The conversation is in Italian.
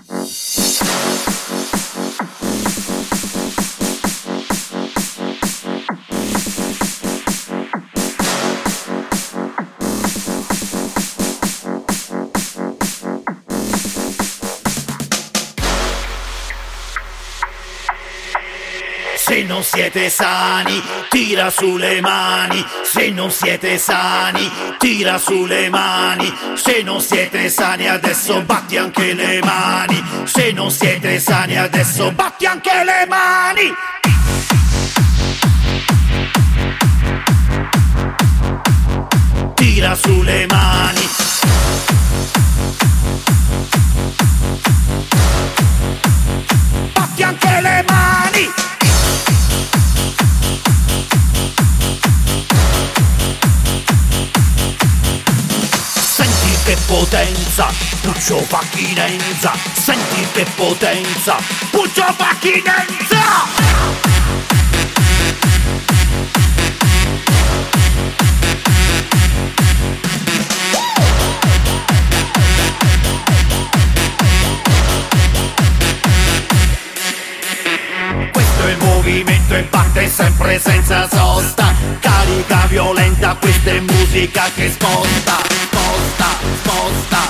Se non siete sani, tira su le mani. Se non siete sani, tira su le mani. Se non siete sani adesso batti anche le mani. Se non siete sani adesso batti anche le mani. Tira su le mani. Batti anche le mani. Senti che potenza, Puccio Facchinenza. Senti che potenza, Puccio Facchinenza. Questo è il movimento e batte sempre senza sosta. Carica violenta, questa è musica che sposta, sposta, sposta.